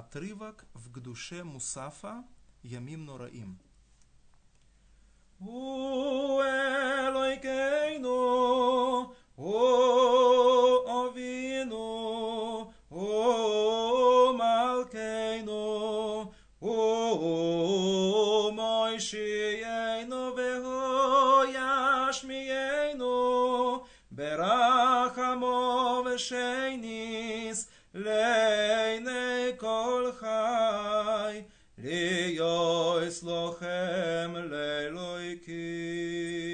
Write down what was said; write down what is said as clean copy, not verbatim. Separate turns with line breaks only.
отрывок в Гдуше Мусафа Ямим Нораим.
הוא אלוהינו, הוא אבינו, הוא מלכנו, הוא מושיענו והוא ישמיענו, ברחמו ושניס לעיני כל חי, להיות לוחם לאלוהיקים.